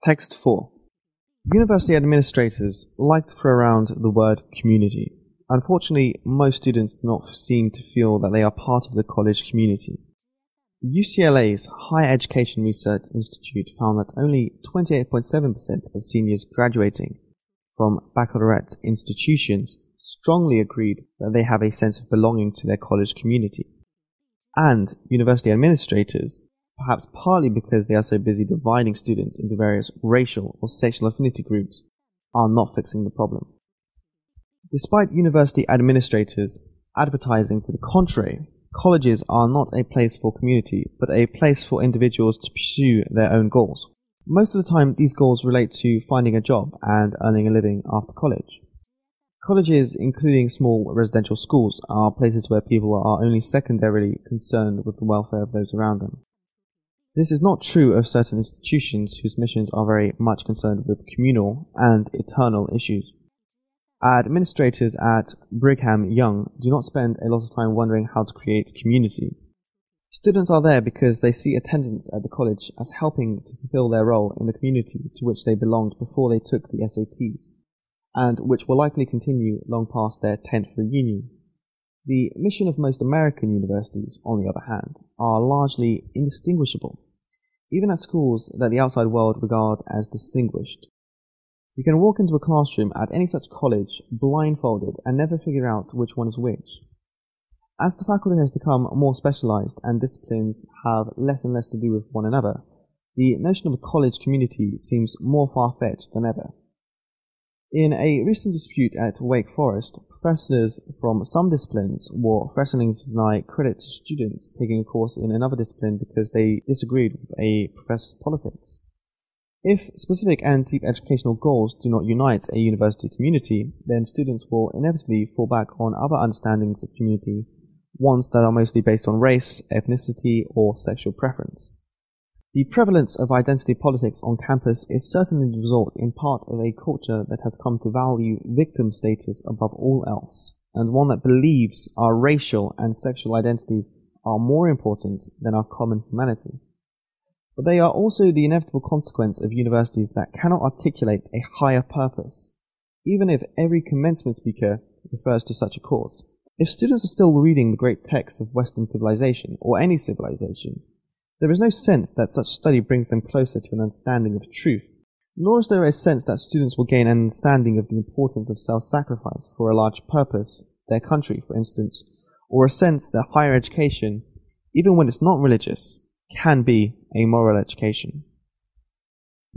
Text 4. University administrators like to throw around the word community. Unfortunately, most students do not seem to feel that they are part of the college community. UCLA's Higher Education Research Institute found that only 28.7% of seniors graduating from baccalaureate institutions strongly agreed that they have a sense of belonging to their college community. And university administrators, perhaps partly because they are so busy dividing students into various racial or sexual affinity groups, are not fixing the problem. Despite university administrators advertising to the contrary, colleges are not a place for community, but a place for individuals to pursue their own goals. Most of the time, these goals relate to finding a job and earning a living after college. Colleges, including small residential schools, are places where people are only secondarily concerned with the welfare of those around them. This is not true of certain institutions whose missions are very much concerned with communal and eternal issues. Administrators at Brigham Young do not spend a lot of time wondering how to create community. Students are there because they see attendance at the college as helping to fulfill their role in the community to which they belonged before they took the SATs, and which will likely continue long past their 10th reunion. The mission of most American universities, on the other hand, are largely indistinguishable, even at schools that the outside world regard as distinguished. You can walk into a classroom at any such college blindfolded and never figure out which one is which. As the faculty has become more specialized and disciplines have less and less to do with one another, the notion of a college community seems more far-fetched than ever. In a recent dispute at Wake Forest, professors from some disciplines were threatening to deny credit to students taking a course in another discipline because they disagreed with a professor's politics. If specific and deep educational goals do not unite a university community, then students will inevitably fall back on other understandings of community, ones that are mostly based on race, ethnicity, or sexual preference. The prevalence of identity politics on campus is certainly the result in part of a culture that has come to value victim status above all else, and one that believes our racial and sexual identities are more important than our common humanity. But they are also the inevitable consequence of universities that cannot articulate a higher purpose, even if every commencement speaker refers to such a cause. If students are still reading the great texts of Western civilization, or any civilization, there is no sense that such study brings them closer to an understanding of truth, nor is there a sense that students will gain an understanding of the importance of self-sacrifice for a large purpose, their country, for instance, or a sense that higher education, even when it's not religious, can be a moral education.